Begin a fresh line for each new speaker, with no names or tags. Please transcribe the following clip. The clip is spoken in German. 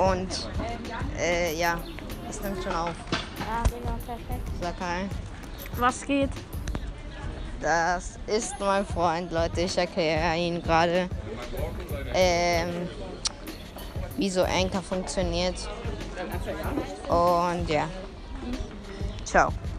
Und ja, es nimmt schon auf.
Ja, Digga, perfekt.
Sag hi.
Was geht?
Das ist mein Freund, Leute. Ich erkläre ihn gerade, wie so Anchor funktioniert. Und ja. Ciao.